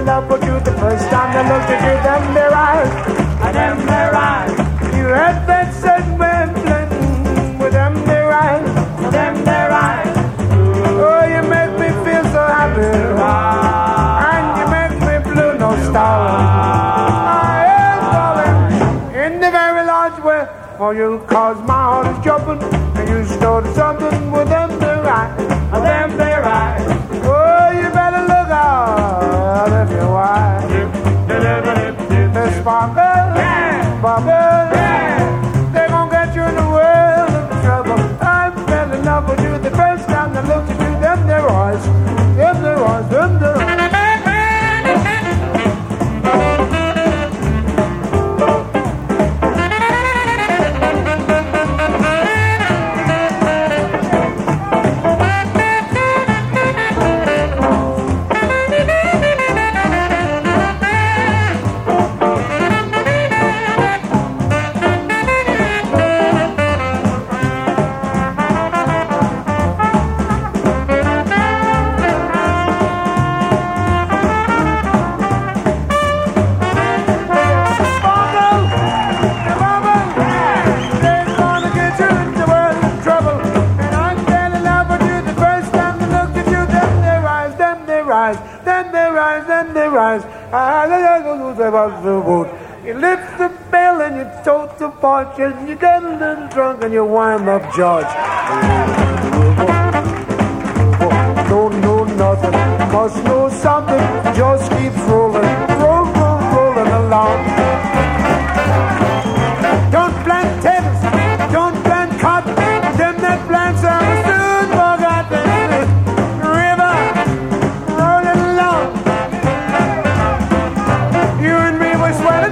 love with you the first time I looked at you, them their eyes, and them their eyes. You had that segment with them their eyes, and them their eyes. Oh, you make me feel so happy, and you make me blue, no star. I am falling in the very large way for you, cause my heart is jumping, and you started something with them their eyes, and them their eyes. Oh, you better look out if you're wise. They sparkle, sparkle, they gon' get you in the world of trouble. I fell in love with you the first time I looked at you, them their eyes, them their eyes, them their eyes. You lift the bell and you tote the porch and you get a little drunk and you wind up George. Don't know nothing, must know something, just keeps rolling, rolling along. Don't plant tables, don't plant cotton, them that plants are soon forgotten. River, rolling along. You and me were sweating.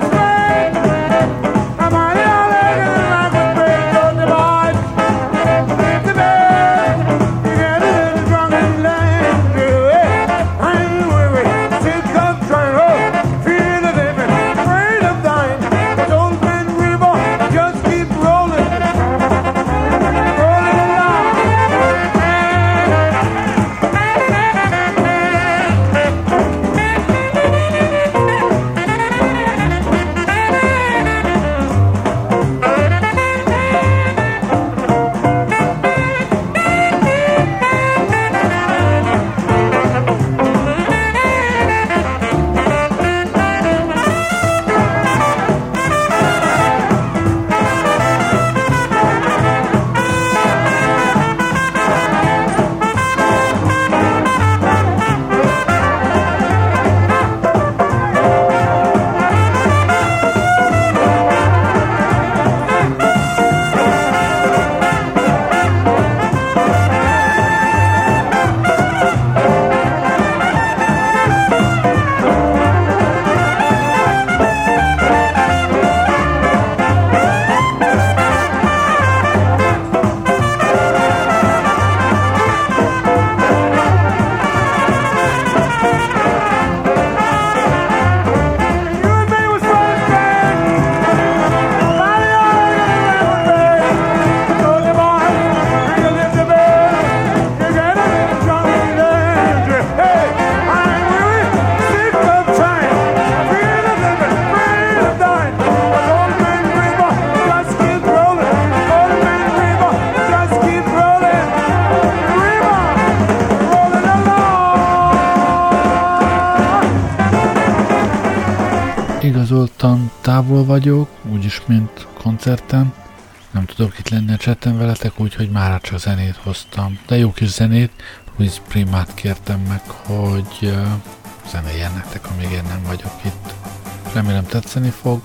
Igazoltan távol vagyok, úgyis mint koncerten. Nem tudok itt lenni a chatten veletek, úgyhogy már csak zenét hoztam. De jó kis zenét, Luis Primát kértem meg, hogy zenéljen nektek, amíg én nem vagyok itt. Remélem tetszeni fog.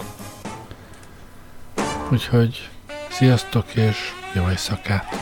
Úgyhogy sziasztok és jó éjszakát!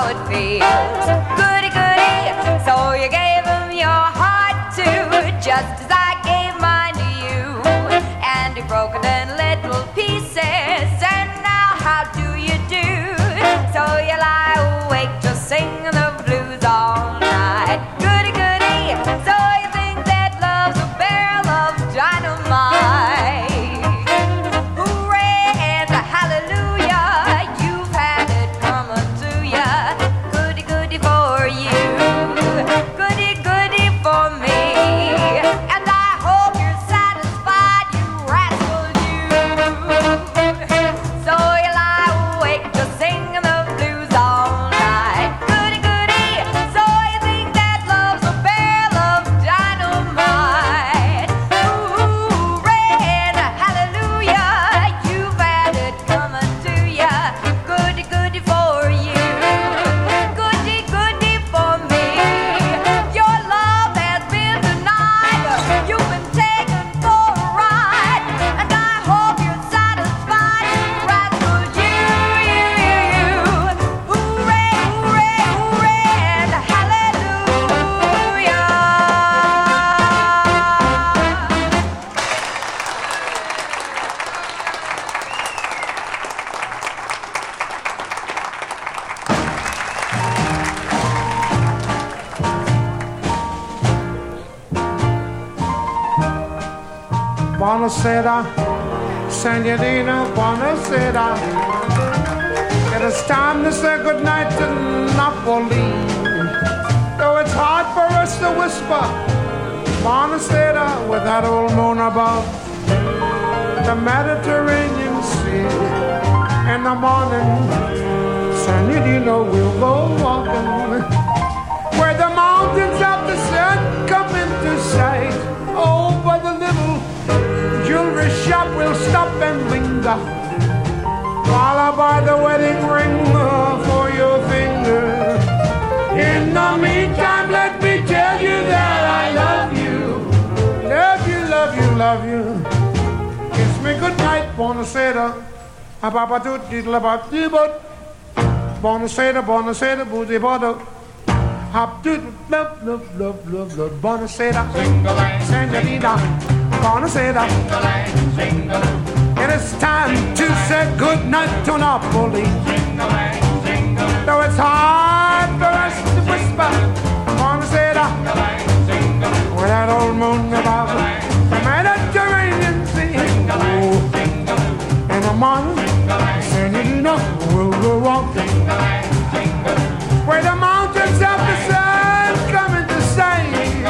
how it feels. Goody, goody, so you gave him your heart too, just as I gave mine to you. And you broke it in little pieces, and now how do you do? So you lie awake just singing the blues all night. Goody, goody, so you think that love's a barrel of dynamite. Hooray and hallelujah, you've had it coming to ya. Goody, goody for you, goody, goody for me. And I hope you're satisfied, you rascal you. So you lie awake just singing the blues all night. Goody, goody, so you think that love's a barrel of dynamite. Hooray and hallelujah, you've had it coming to ya. Goody, goody for you, goody, goody for me. Your love has been denied, you've been taken for a ride. And I hope you're satisfied, you rascal you. Hooray, hooray, hooray and hallelujah. Buonasera, senorina, buonasera. It is time to say goodnight to Napoli. Though it's hard for us to whisper buonasera with that old moon above the Mediterranean Sea. In the morning, senorina, we'll go walking where the mountains of the sun come into sight. Oh, by the little jewelry shop we'll stop and linger while I buy the wedding ring for your finger. In the meantime, let me tell you that I love you. Love you, love you, love you. Kiss me goodnight, buonasera. Buonasera, buonasera, booty bottle. Hop to love, love, love, love, love. Buonasera, senorita. Buonasera. It is time to say goodnight to Napoli. Though it's hard for us to whisper buonasera with that old moon above the Mediterranean Sea. Oh, in the morning, senorita, we'll go walking where the mountains of the sun come into sight.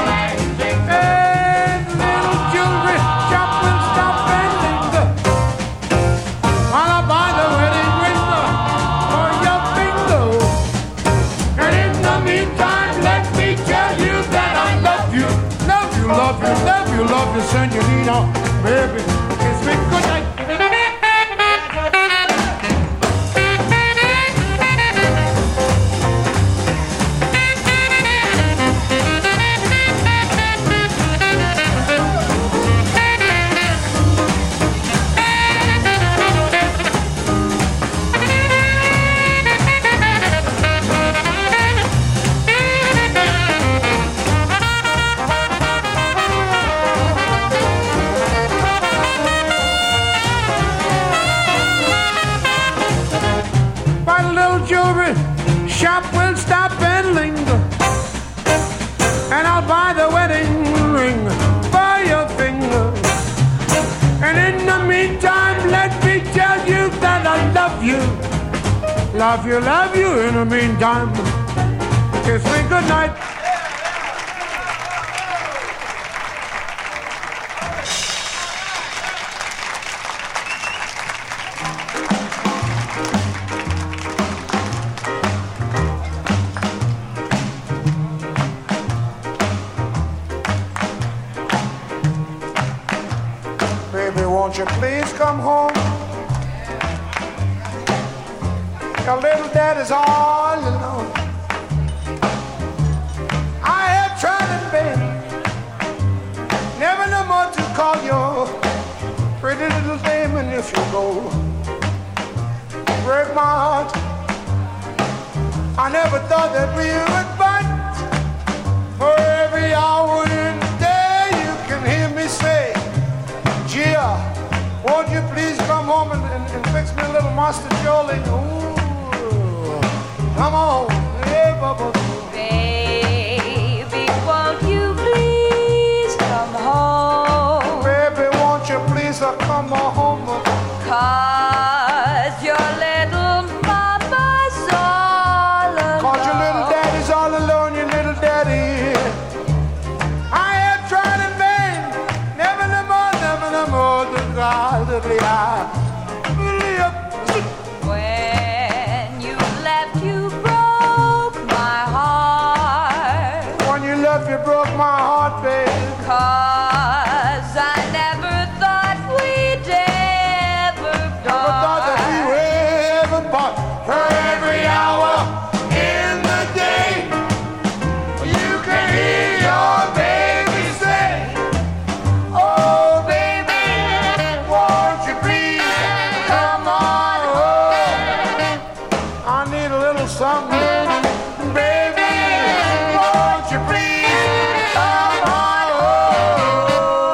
And little jewelry shop will stop and linger while I buy the wedding ring for your finger. And in the meantime, let me tell you that I love you. Love you, love you, love you, love you, senorita. Baby, kiss me goodnight. Shop will stop and linger, and I'll buy the wedding ring for your finger. And in the meantime, let me tell you that I love you. Love you, love you. In the meantime, kiss me goodnight. Won't you please come home? Your little daddy's all alone. I have tried in vain, never no more to call your pretty little dame. And if you go, break my heart. I never never thought that we would fight. For every hour in the day you can hear me say, Gia, won't you please come home and fix me a little Master Jolie? Ooh, come on. Hey, Bubba. Baby, won't you please come home? Baby, won't you please come home? 'Cause your little mama's all alone. 'Cause your little daddy's all alone, your little daddy. I have tried in vain. Never no more, the God that we are. When you left, you broke my heart. When you left, you broke my heart, babe. 'Cause I never thought we'd ever Never thought that we part. would ever part. For every hour in the day, you can hear your baby say, oh baby, won't you please come on home? I need a little something, baby, won't you please come on home?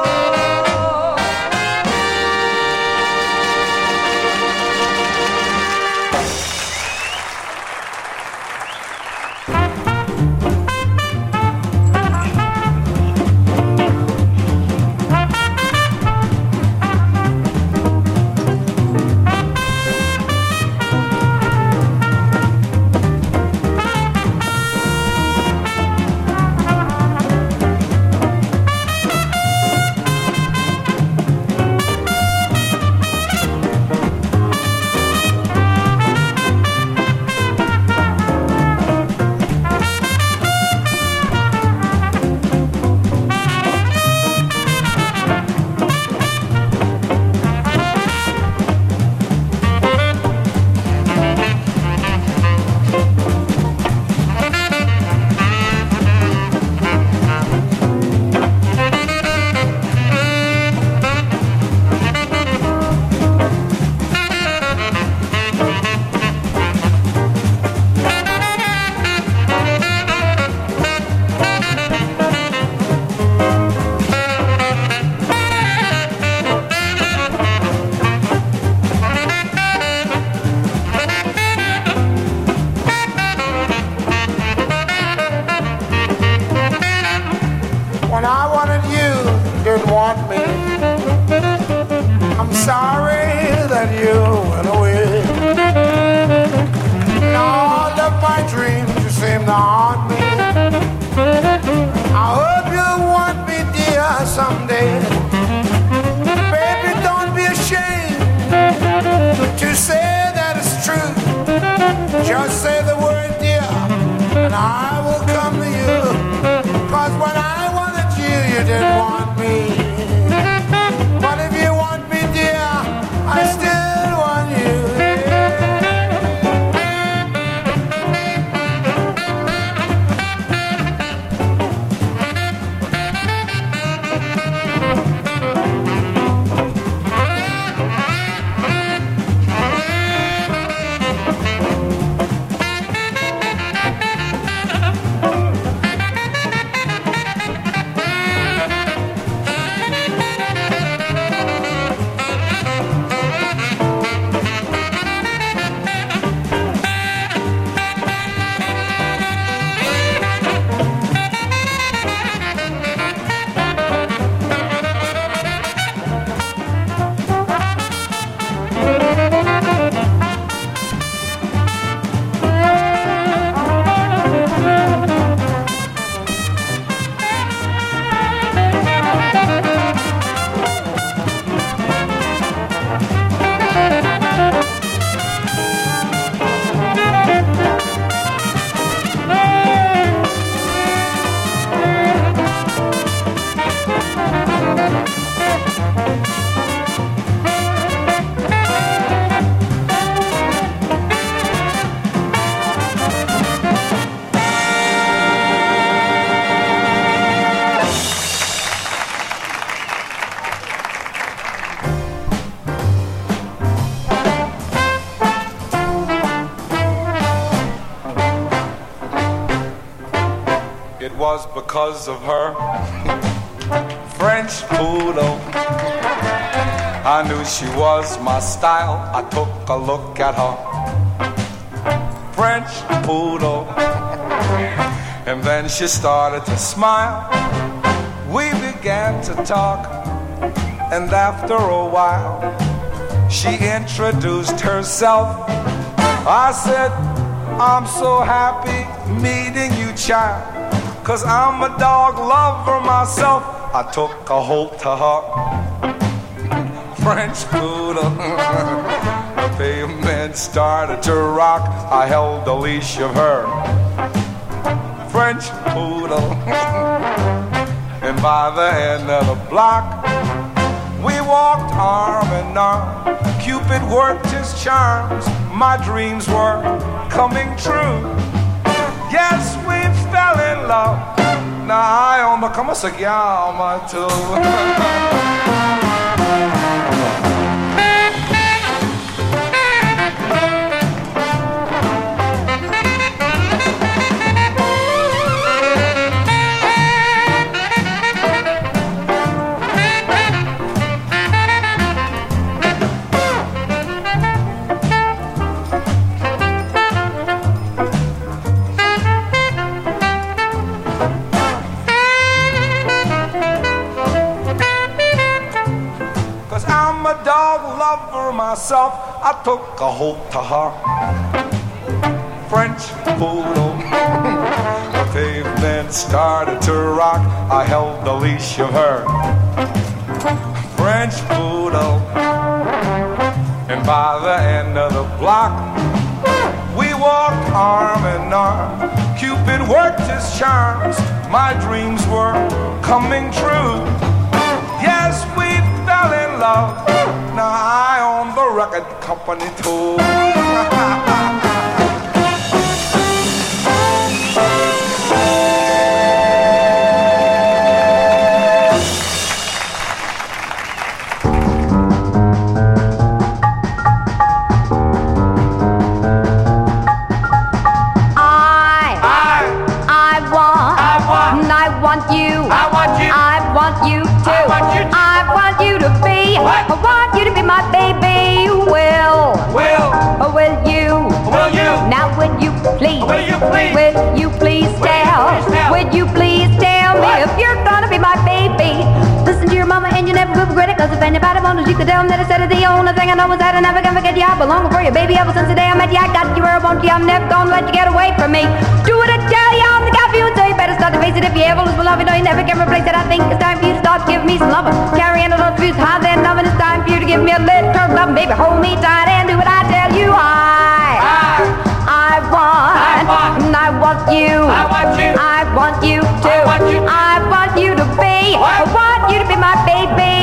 When I wanted you, didn't want me. I'm sorry that you went away. In all of my dreams, you seem to haunt me. I hope you'll want me, dear, someday. Baby, don't be ashamed to say that it's true. Just say the word, dear, and I will come to you. 'Cause when I wanted you, you didn't want me. But if you want me, dear, I still want you. it was because of her. French poodle, I knew she was my style. I took a look at her. French poodle, and then she started to smile. We began to talk, and after a while she introduced herself. I said, I'm so happy meeting you, child, 'cause I'm a dog lover myself. I took a hold to her. French poodle. The pavement started to rock. I held the leash of her. French poodle. And by the end of the block, we walked arm in arm. Cupid worked his charms. My dreams were coming true. Yes, we fell in love. Now I on the come si chiama tu. Myself, I took a hold to her. French poodle. The pavement started to rock. I held the leash of her. French poodle. And by the end of the block, we walked arm in arm. Cupid worked his charms. My dreams were coming true. Yes, we fell in love. Now I own the record company too. My baby, will you? Now will you please? Will you please tell? Would you please tell me if you're gonna be my baby? Listen to your mama and you never will regret it. 'Cause if anybody wanted you could tell them that I said it. The only thing I know is that I never gonna forget you. I belong for you, baby, ever since the day I met you. I got you where I want you. I'm never gonna let you get away from me. Do what I tell you, I'm the guy for you, and so you better start to face it. If you ever lose my love, you know you never can replace it. I think it's time for you to start giving me some loving. Carrying all those views high then loving. It's time for you to give me a little turn love. Baby, hold me tight and do what I tell you. I want you. I want you to. I want you to be. I want you to be my baby.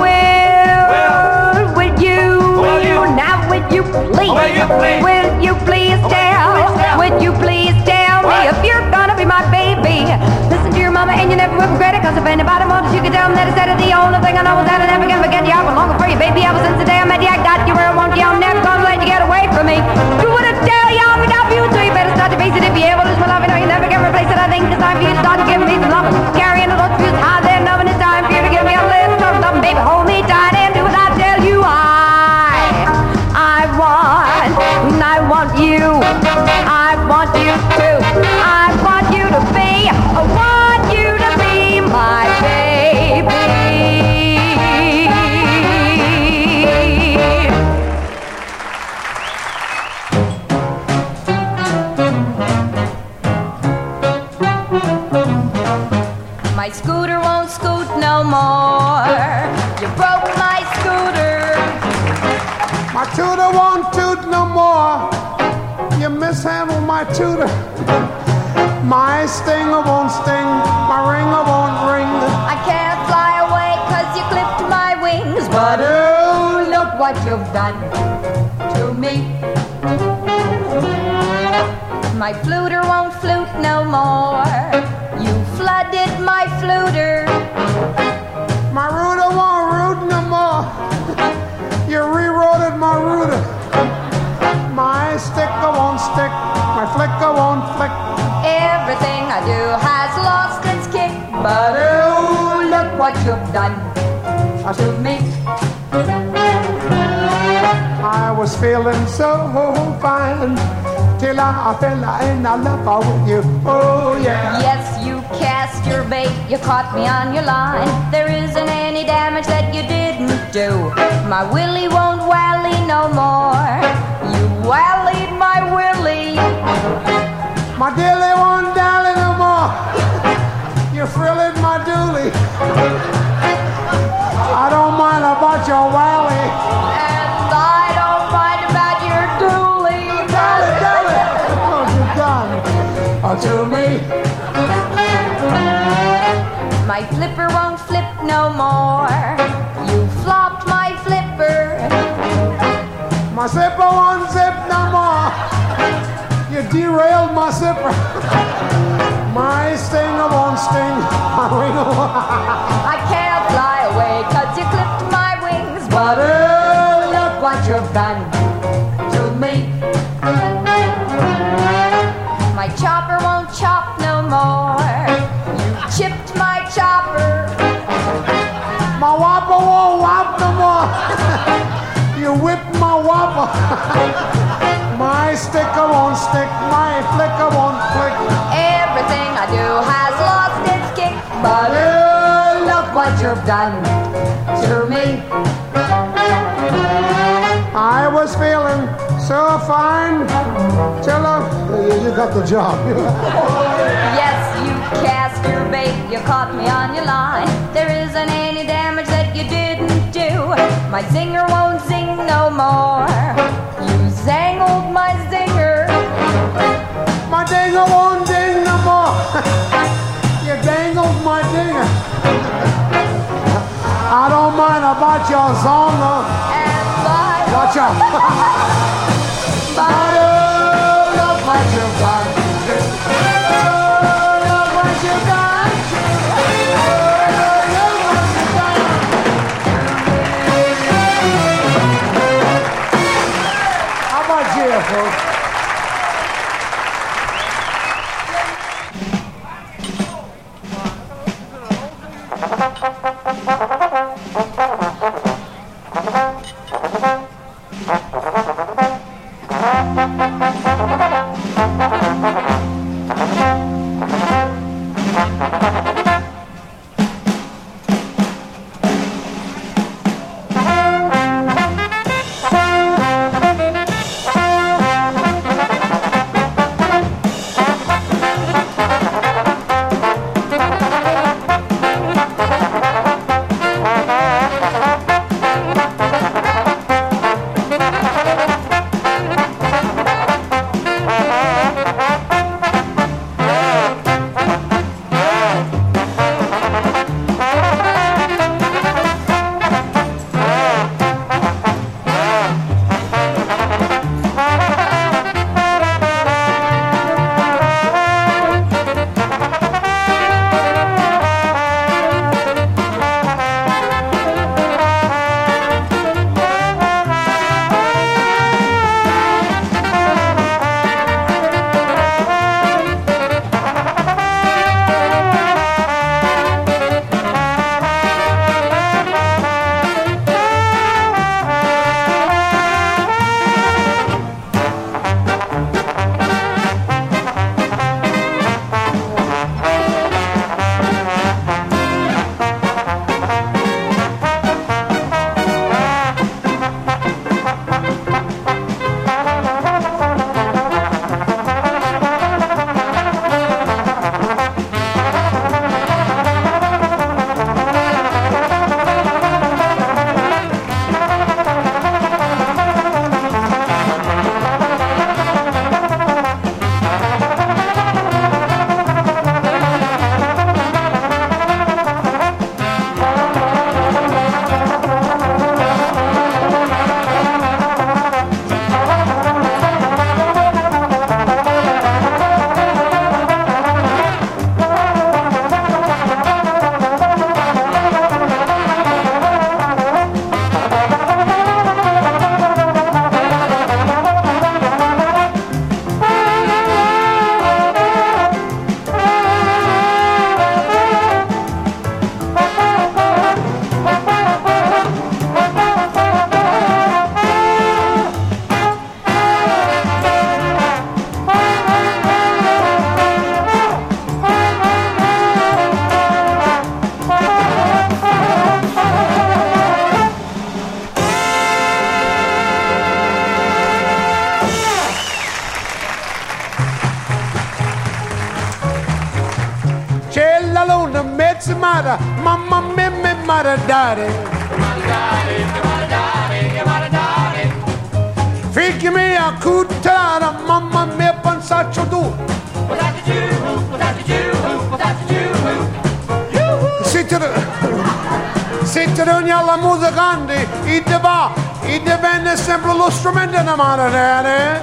Will you? Now will you please? Will you please tell? Would you please tell me if you're gonna be my baby? Listen to your mama and you never will regret it. 'Cause if anybody wanted you could tell them that I said it. The only thing I know is that I never can forget you. I belong for you, baby, ever since the day I met you. I got you where I want you. I'm never gonna let you get away from me. Do what I tell you, I'm gonna you, so you better start to face it. If you ever lose my love, you know you never can replace it. I think it's time for you to start giving me some loving. Carrying all those views high there, loving. It's time for you to give me a little turn loving. Baby, hold me tight and do what I tell you. I want you. I want you to. I want you to be. I want you to be my baby. My scooter won't scoot no more. You broke my scooter. My tutor won't toot no more. You mishandled my tutor. My stinger won't sting. My ringer won't ring. I can't fly away 'cause you clipped my wings. But oh, look what you've done to me. My fluter won't flute no more. You flooded my fluter. My rooter won't root no more. You rewrote my rooter. My sticker won't stick. My flicker won't flick. Everything I do has lost you've done to me. I was feeling so fine till I fell in love with you. Oh yeah. Yes, you cast your bait, you caught me on your line. There isn't any damage that you didn't do. My Willie won't wally no more. You wallied my Willie. My dilly won't dally no more. You frilled my dooley. I don't mind about your wally. And I don't mind about your dually. Dally, dally. What you done to me? My flipper won't flip no more. You flopped my flipper. My zipper won't zip no more. You derailed my zipper. My stinger won't sting. My wing I can't fly away 'cause you clipped my wings. But look what you've done to me. My chopper won't chop no more. You chipped my chopper. my whopper won't whop no more. You whipped my whopper. My sticker won't stick. My flicker won't flick. Everything I do has lost its kick. But look what you've done to me. I was feeling so fine till you got the job. Yes, you cast your bait, you caught me on your line. There isn't any damage that you didn't do. My zinger won't zing no more. You zangled my zinger. My dinger won't ding no more. You dangled my dinger. I don't mind about your zonger. And by Watch out. But look what you've done. Look what you've done. Look what you've done. How about you, folks? la luna, mezza mata, mamma mia, me mata daddy. Figli me a cutara, mamma mia, pensaccio tu. Sitte ogni alla musicante, e te va, e divenne sempre lo strumento di mano daddy.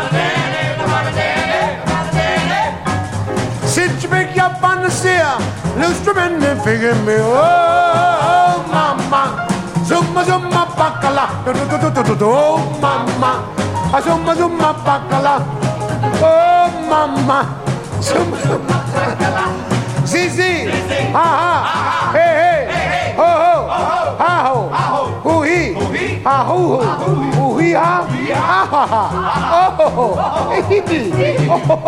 Sitte perché a panacea, lo strumento figli me, oh mamma. Zumma zumma baccala, oh mamma, zumma zumma baccala, oh mamma, zumma zumma baccala. Sì, ah, hey, ho, ho, ha, ho, hu-hi, ha, hu, hu-hi, ha, ha, oh, hi-hi,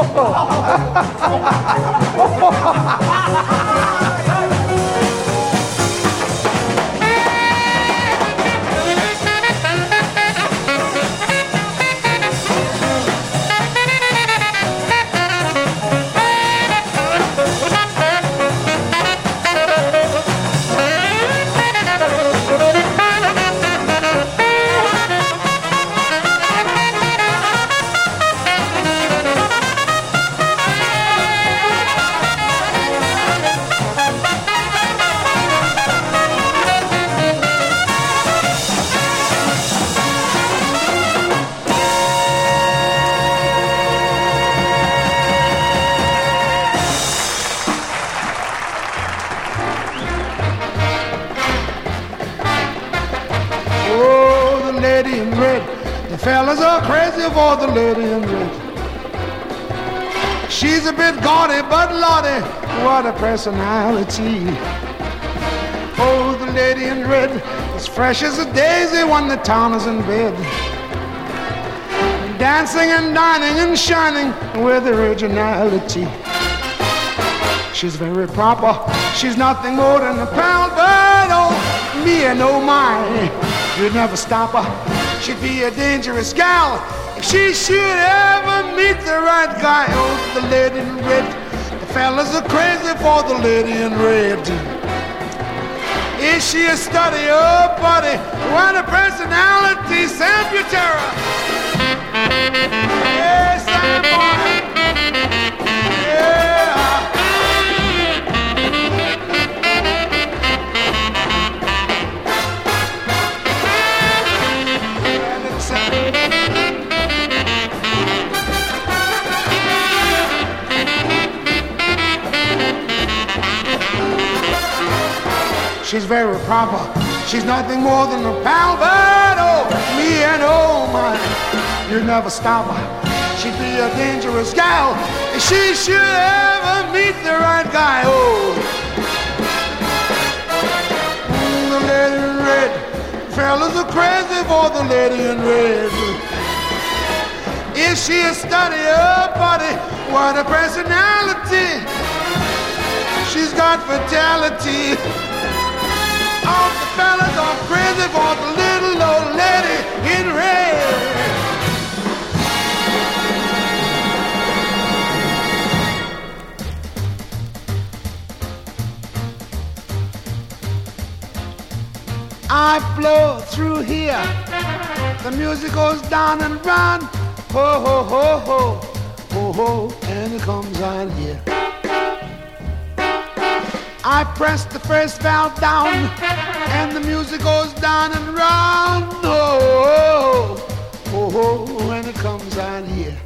fellas are crazy for the lady in red. She's a bit gaudy, but Lordy, what a personality. Oh, the lady in red, as fresh as a daisy when the town is in bed. Dancing and dining and shining with originality. She's very proper, she's nothing more than a pal, but oh, me and oh my, you'd never stop her. She'd be a dangerous gal if she should ever meet the right guy. Oh, the lady in red. The fellas are crazy for the lady in red. Is she a study? Oh, buddy, what a personality, Sam Butera. Yes, Sam boy. Yeah. She's very proper, she's nothing more than a pal, but oh, me and oh my, you'd never stop her. She'd be a dangerous gal if she should ever meet the right guy, oh. The lady in red, fellas are crazy for the lady in red. Is she a study, oh buddy, what a personality. She's got fatality. All the fellas are crazy for the little old lady in red. I blow through here, the music goes down and round, ho ho ho ho, ho ho, and it comes on here. I press the first valve down, and the music goes down and round, oh, oh, oh, and it comes on here.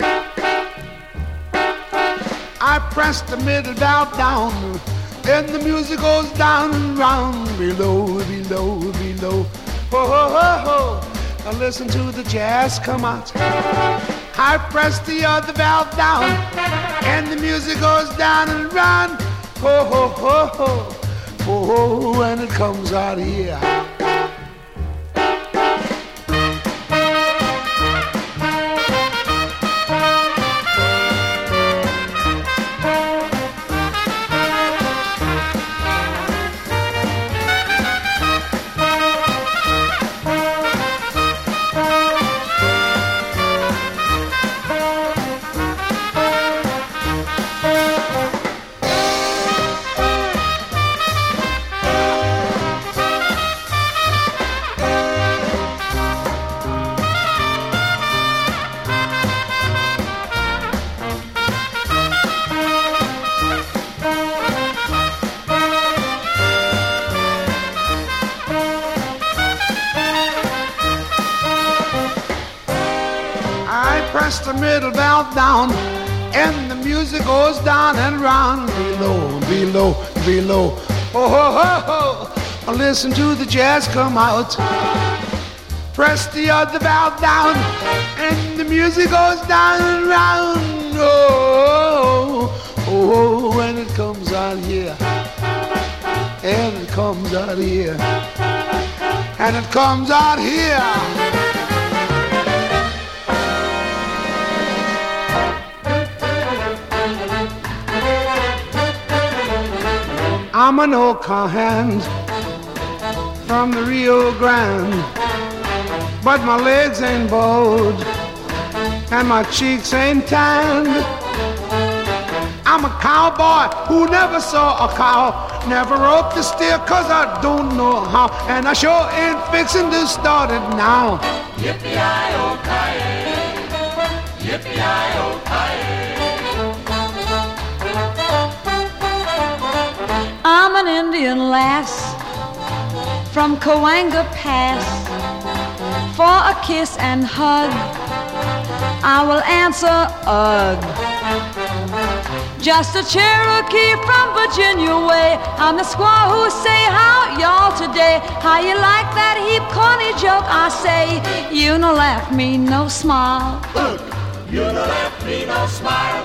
I press the middle valve down, and the music goes down and round, below, below, below, oh, oh, oh, oh. Now listen to the jazz come out. I press the other valve down, and the music goes down and round, ho, ho, ho, ho, ho, ho, and it comes out here. press the middle valve down, and the music goes down and round. Below, below, below. Oh, ho, ho, ho. Listen to the jazz come out. Press the other valve down, and the music goes down and round. Oh, oh, oh, when it comes out here, and it comes out here, and it comes out here. I'm an old cowhand from the Rio Grande, but my legs ain't bowed and my cheeks ain't tanned. I'm a cowboy who never saw a cow, never roped a steer 'cause I don't know how, and I sure ain't fixing to start it now. Yippee-yi-oh-ki-yay, yippee-yi-oh-ki-yay. I'm an Indian lass from Coanga Pass. For a kiss and hug, I will answer ugh. Just a Cherokee from Virginia way. I'm the squaw who say, how y'all today? How you like that heap corny joke I say? You no laugh, me no smile. You no laugh, me no smile.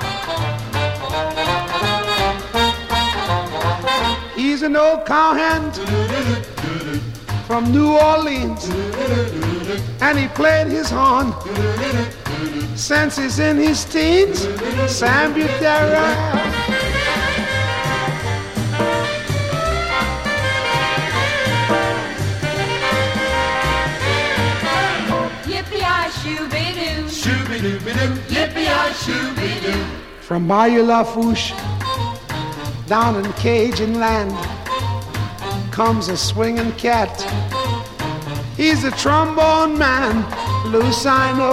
He's an old cowhand from New Orleans, and he played his horn since he's in his teens. Sam Butera. Yippee-yi-shoo-be-doo, Shoo-be-doo-be-doo, yippee-yi-shoo-be-doo. From Bayou Lafourche down in Cajun land comes a swinging cat. He's a trombone man, Lucino.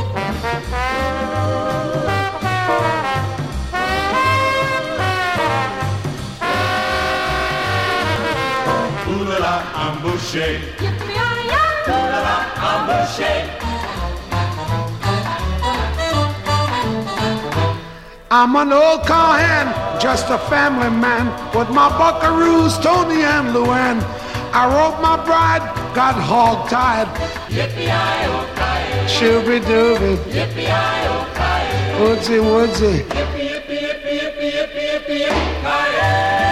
Ooh-la-la, I'm Boucher. Ooh-la-la, I'm Boucher. I'm an old cowhand, just a family man, with my buckaroos, Tony and Luann. I roped my bride, got hog-tied. Yippee-yi-oh-ki-yay, Shooby-dooby, yippee-yi-oh-ki-yay. woodsy, woodsy. Yippee, yippee, yippee, yippee, yippee, yippee, yippee-ki-yay.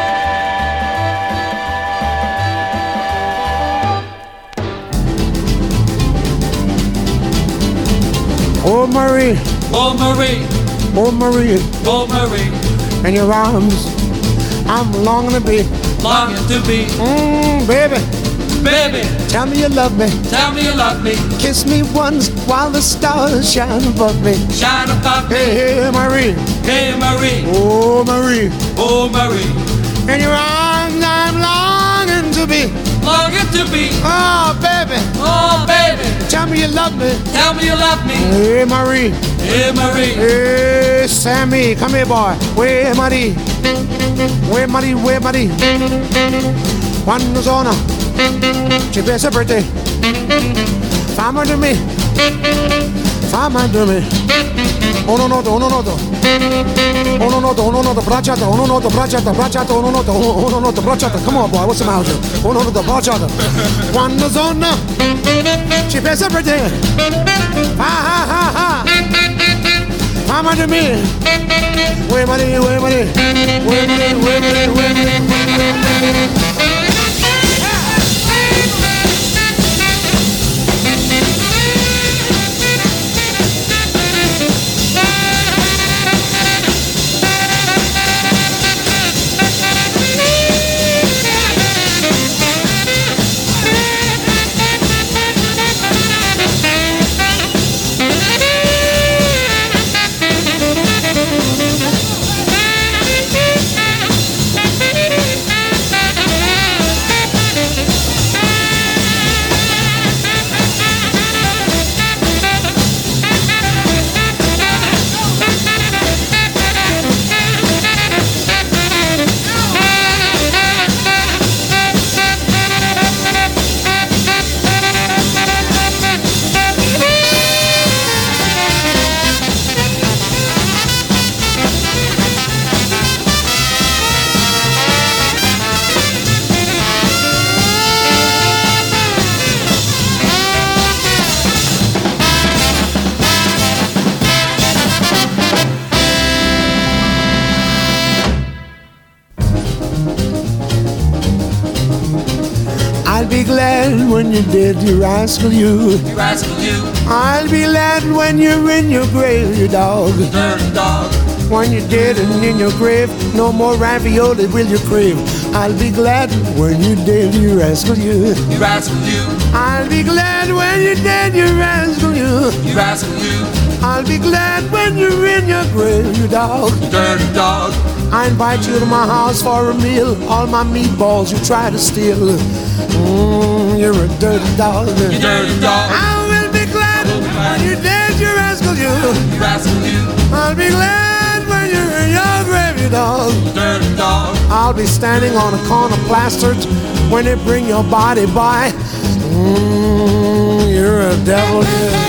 Oh, Marie, Oh, Marie, oh, Marie, oh, Marie, in your arms, I'm longing to be. longing to be. Baby, Baby, tell me you love me. tell me you love me. Kiss me once while the stars shine above me. Shine above me. Hey, hey, Marie, Hey, Marie, oh, Marie, oh, Marie, in your arms, I'm longing to be. longing to be. Oh, baby, Oh, baby, tell me you love me. tell me you love me. Hey, Marie, Hey, Marie, hey, Sammy, come here, boy. Where, Marie? Where, Marie, where, Marie? Quando sono ci pensa per te. Fammi to me, fammi to me. Uno noto, uno noto. Uno noto, uno noto, bracciata, uno noto, bracciata, bracciata, uno noto, bracciata. Come on, boy, what's the matter? Uno noto, bracciata. Quando sono ci pensa per te. Ha ha ha ha. Fammi to me. Where, Marie, where, Marie? Where, Marie, where, Marie, where, Marie? be glad when you're dead, you rascal you. You rascal you. I'll be glad when you're in your grave, you dog. Dirty dog. When you're dead and in your grave, no more ravioli will you crave. I'll be glad when you're dead, you rascal you. You rascal you. I'll be glad when you're dead, you rascal you. You rascal you. I'll be glad when you're in your grave, you dog. Dirty dog. I invite you to my house for a meal. All my meatballs you try to steal. You're a dirty dog. You dirty dog. I will be glad when you're dead, you rascal you. You rascal you. I'll be glad when you're in your grave, you dog. Dirty dog. I'll be standing on a corner plastered when they bring your body by. You're a devil, yeah.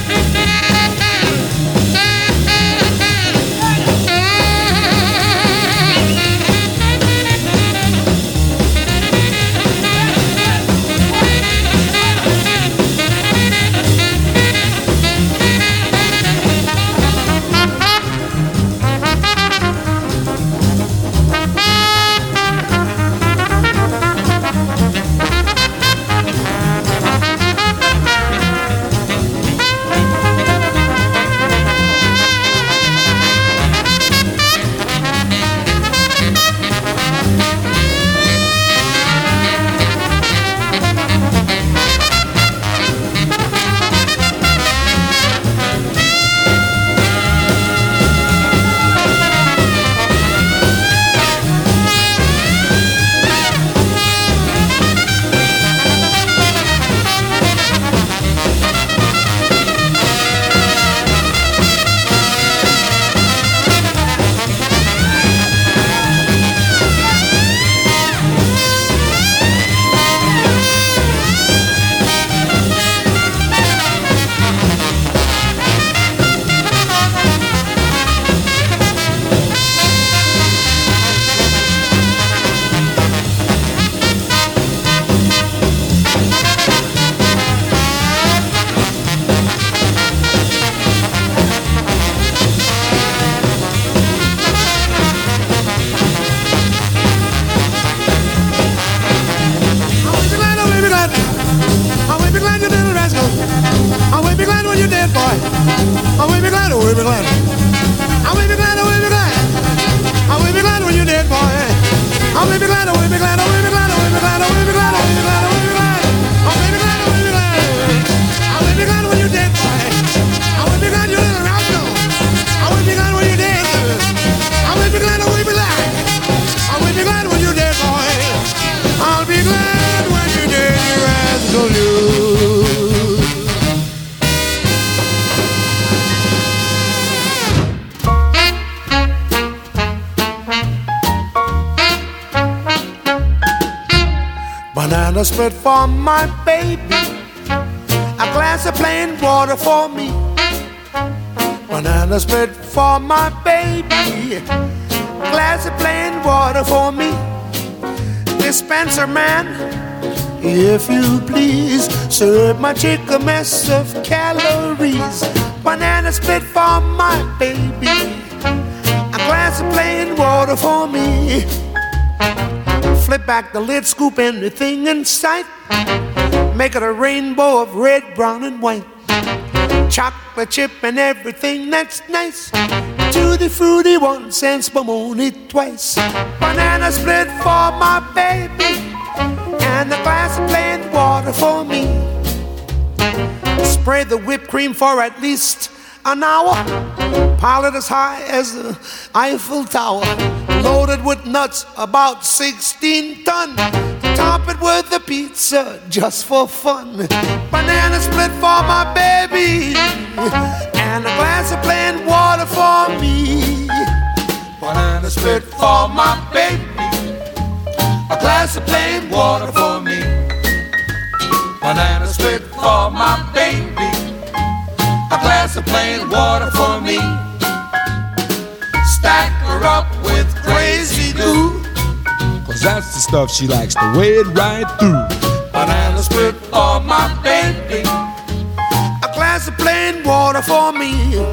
Banana split for my baby, a glass of plain water for me. Banana split for my baby, a glass of plain water for me. Dispenser man, if you please, serve my chick a mess of calories. Banana split for my baby, a glass of plain water for me. Flip back the lid, scoop anything in sight. Make it a rainbow of red, brown, and white. Chocolate chip and everything that's nice. Tutti frutti once and spumoni twice. Banana split for my baby, and a glass of plain water for me. Spray the whipped cream for at least an hour. Pile it as high as the Eiffel Tower. Loaded with nuts, about 16 ton. Top it with a pizza just for fun. Banana split for my baby, and a glass of plain water for me. Banana split for my baby, a glass of plain water for me. Banana split for my baby, a glass of plain water for me. Stack her up with crazy glue, 'cause that's the stuff she likes to wade right through. Banana split for my baby, a glass of plain water for me.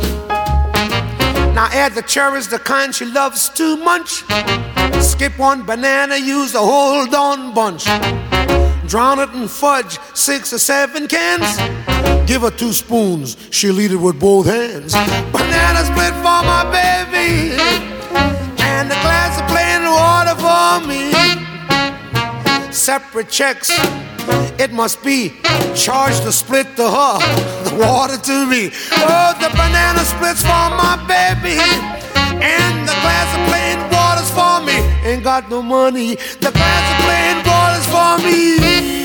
Now add the cherries, the kind she loves too much. Skip one banana, use the whole darn bunch. drown it in fudge, 6 or 7 cans. Give her 2 spoons, she'll eat it with both hands. Banana split for my baby, and a glass of plain water for me. Separate checks, it must be. Charge the split to her, the water to me. Oh, the banana splits for my baby, and the glass of plain water's for me. Ain't got no money, the glass of plain water's for me.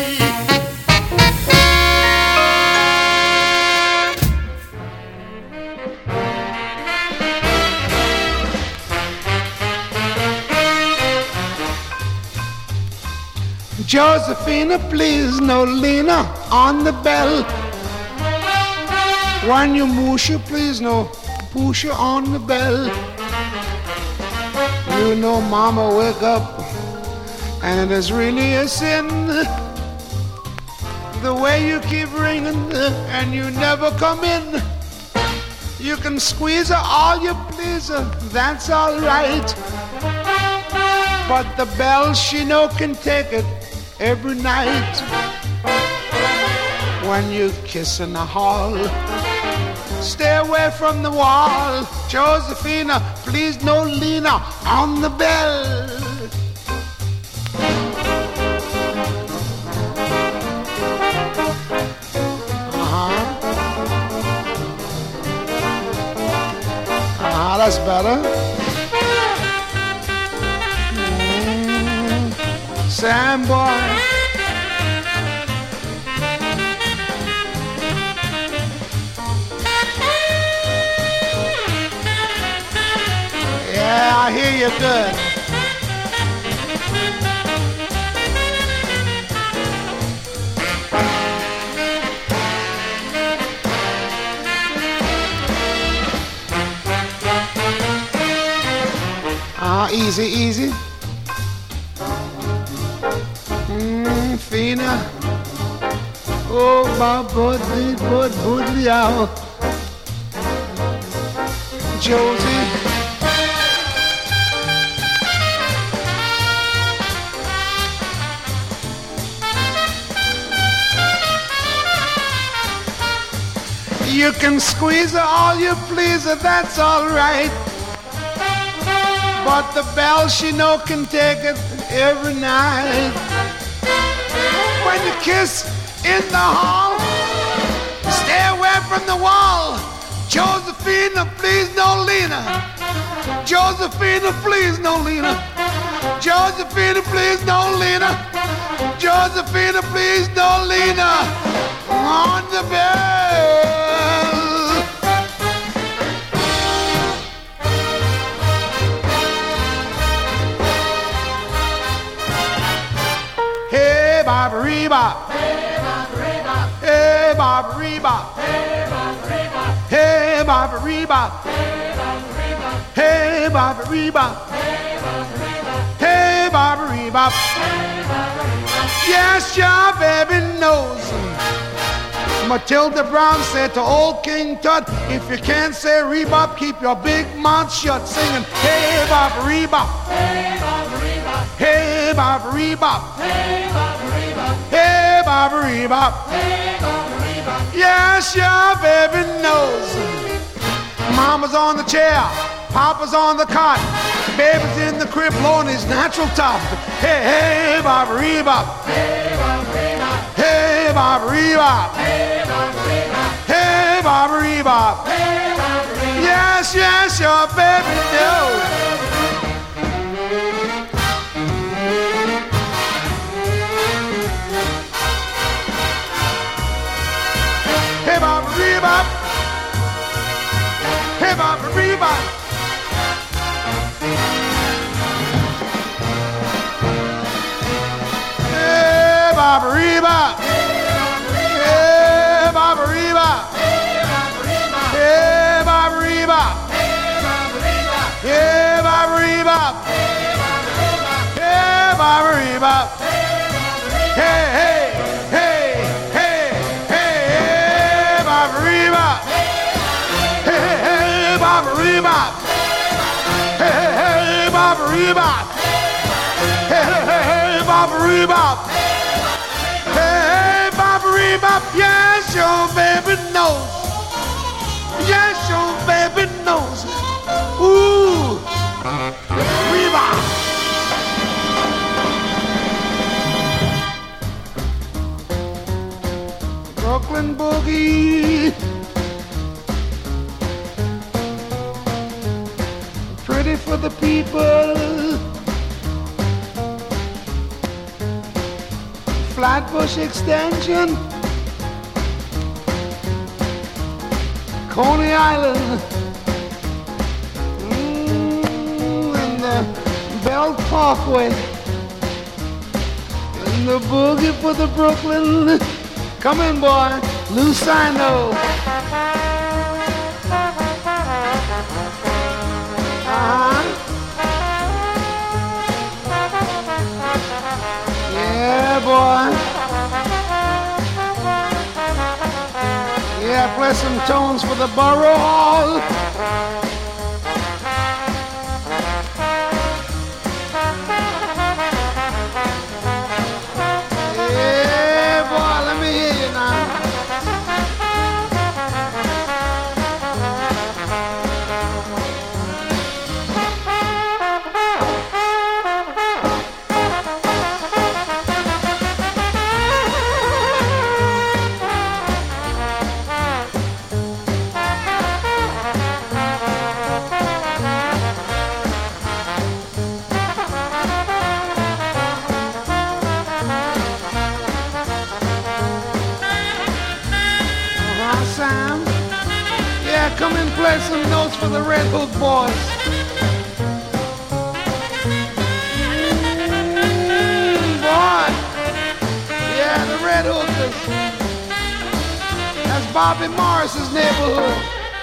Josephina, please, no Lena on the bell. When you musha, please, no pusha on the bell. You know, Mama, wake up, and it is really a sin. The way you keep ringing, and you never come in. You can squeeze her all you please, that's all right. But the bell, she no can take it every night. When you kiss in the hall, stay away from the wall. Josephina, please no Lena on the bell. That's better. Sam boy. Yeah, I hear you good. Easy, easy. Fina. Oh, my buddy, out. Josie. You can squeeze her all you please, that's all right. But the bell, she no can take it every night. When you kiss in the hall, stay away from the wall. Josephina, please no Lena. Josephina, please no Lena. Josephina, please no Lena. Josephina, please no Lena. On the bell. Hey, Baba Reba. Hey, Baba Reba. Hey, Baba Reba. Hey, Baba Reba. Hey, Baba Reba. Yes, your baby knows. Matilda Brown said to old King Tut, if you can't say rebop, keep your big mouth shut, singing, hey, Baba Reba. Hey, Baba Reba. Hey, Baba Reba. Hey, Baba Reba. Hey, Baba Reba. Hey, Baba Reba. Yes, your baby knows. Mama's on the chair, Papa's on the cot, baby's in the crib blowing his natural top. Hey, hey, Baba Reba. Hey, Baba Reba. Hey, Baba Reba. Hey, Baba Reba. Hey, Baba Reba. Hey, Baba Reba. Yes, yes, your baby knows. Hey, Baba Reba. Hey, Baba Reba. Hey, Baba Reba. Hey, Baba Reba. Hey, Baba Reba. Hey, Baba Reba. Hey, Baba Reba. Hey, hey, hey, hey, hey, Baba Reba. Hey, hey, Baba Reba. Hey, hey, Baba Reba. Hey, hey, Baba Reba. bebop, yes, your baby knows. Yes, your baby knows. Ooh, bebop. Brooklyn boogie. Pretty for the people. Flatbush Extension, Coney Island, and the Belt Parkway, and the boogie for the Brooklyn. Come in, boy, Lucino. Yeah, boy. Yeah, play some tones for the Borough Hall. Yeah, boy, let me hear you now. Come and play some notes for the Red Hook boys. Boy. Yeah, the Red Hookers. That's Bobby Morris's neighborhood.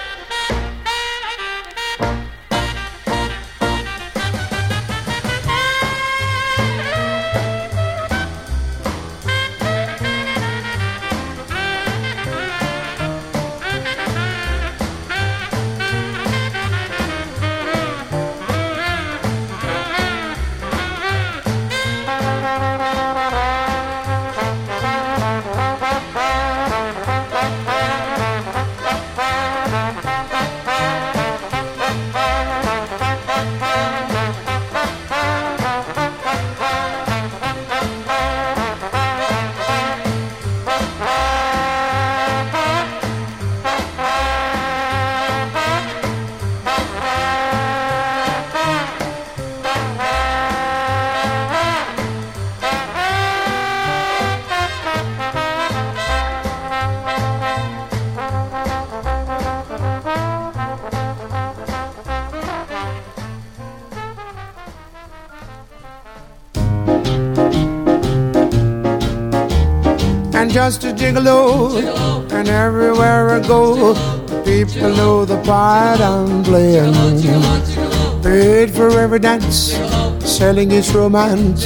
Just a gigolo, and everywhere I go, people know the part I'm playing. Paid for every dance, selling its romance.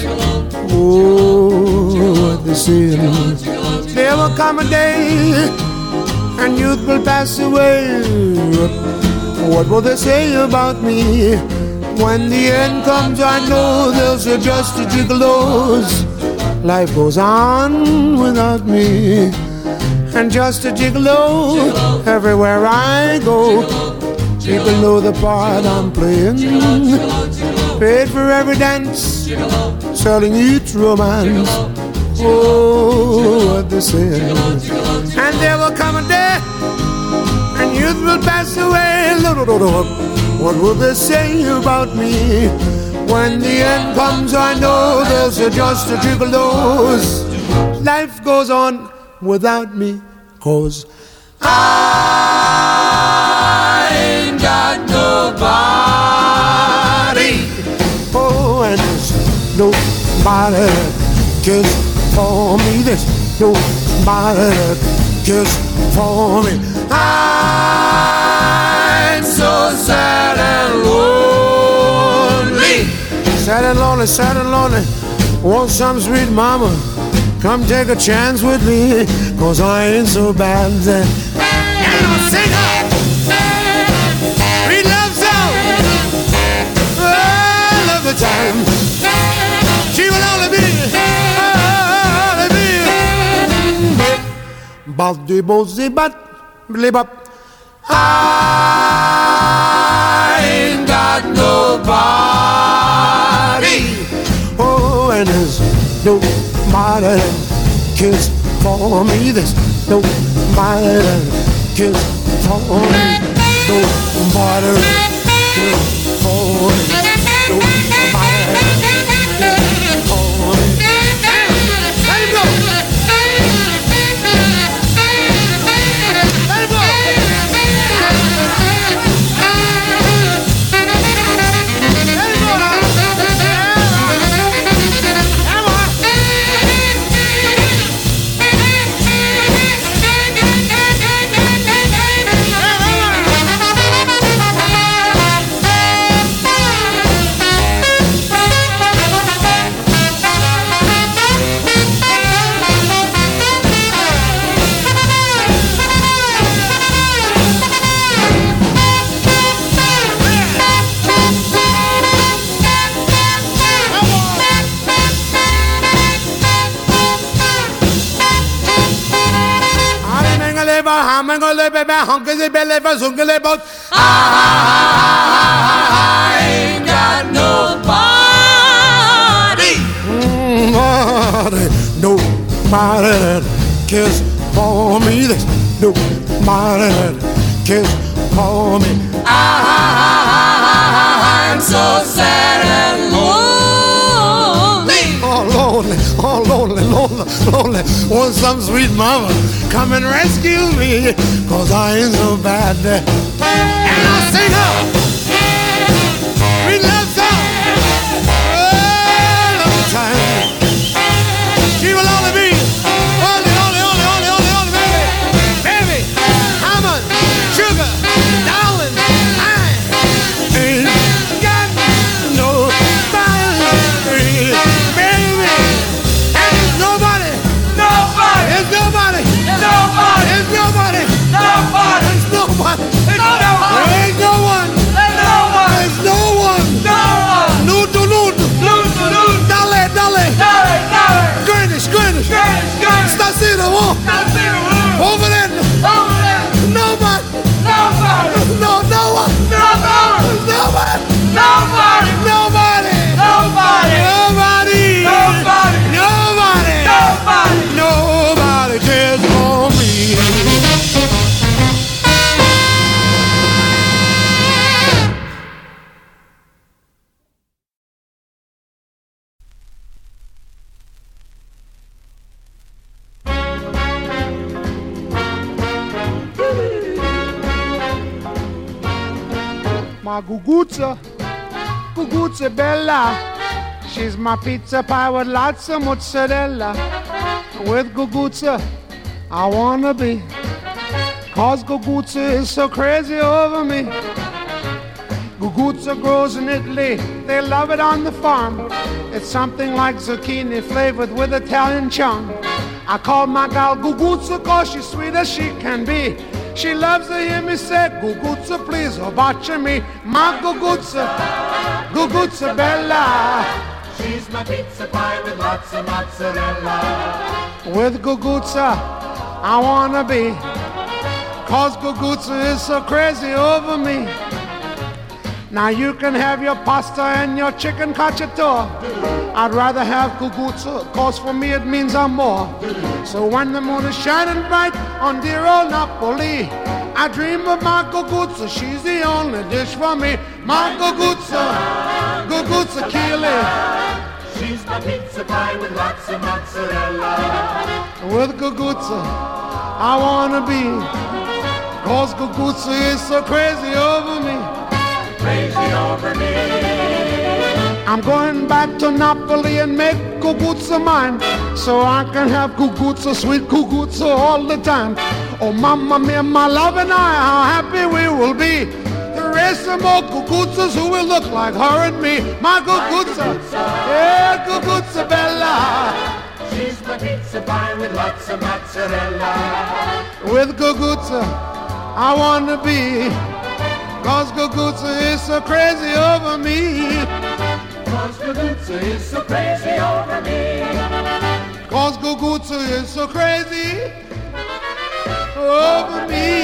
Oh, the sin. There will come a day, and youth will pass away. What will they say about me? When the end comes, I know they'll say just a gigolos. Life goes on without me, and just a gigolo, everywhere I go. People know the part I'm playing. Paid for every dance, selling each romance. Oh, what they say. And there will come a day, and youth will pass away. What will they say about me? When the end comes, I know there's just a gigolos. Life goes on without me, 'cause I ain't got nobody. Oh, and there's nobody that cares for me. There's nobody that cares for me. I'm so sad and lonely. Sad and lonely, sad and lonely. Want some sweet mama, come take a chance with me, 'cause I ain't so bad. And I'll sing her sweet love song. I love the time. She will only be bop de bo zibat blibop. I ain't got nobody. Oh, and there's nobody that cares for me. There's nobody that cares for me. Nobody that cares for me. Nobody that cares for me. Let him go. Let him go. I ain't got nobody. Nobody that cares for me. There's nobody that cares for me. I'm so sad and lonely. Oh, lonely. Want some sweet mama come and rescue me, 'cause I ain't so bad. And I'll sing her sweet love song all the time. She will only be only baby, Hammond, sugar, darling, I ain't got nobody, baby. Nobody. There's nobody. There's nobody. There's nobody. There ain't no one. There's no one. Nudo. Dale. Greenwich. Stasino. Over there. Nobody. No one. Nobody cares for me. My Guguzza Bella. She's my pizza pie with lots of mozzarella. With Guguzza, I wanna be, 'cause Guguzza is so crazy over me. Guguzza grows in Italy, they love it on the farm. It's something like zucchini flavored with Italian charm. I call my gal Guguzza 'cause she's sweet as she can be. She loves to hear me say, Guguzza, please, oh, watching me. My Guguzza Bella. She's my pizza pie with lots of mozzarella. With Guguzza, I wanna be, 'cause Guguzza is so crazy over me. Now you can have your pasta and your chicken cacciatore. I'd rather have Guguzza, 'cause for me it means I'm more. So when the moon is shining bright on dear old Napoli, I dream of my Guguzza, she's the only dish for me. My Guguzza Keely. She's my pizza pie with lots of mozzarella. With Guguzza, I wanna be, 'cause Guguzza is so crazy over me. Crazy over me. I'm going back to Napoli and make Guguzza mine, so I can have Guguzza, sweet Guguzza all the time. Oh, mamma mia, my love and I, how happy we will be to raise some more Guguzzas who will look like her and me. My Guguzza, yeah, Guguzza Bella. She's my pizza pie with lots of mozzarella. With Guguzza, I want to be, 'cause Guguzza is so crazy over me. 'Cause Guguzza is so crazy over me. 'Cause Guguzza is so crazy over me.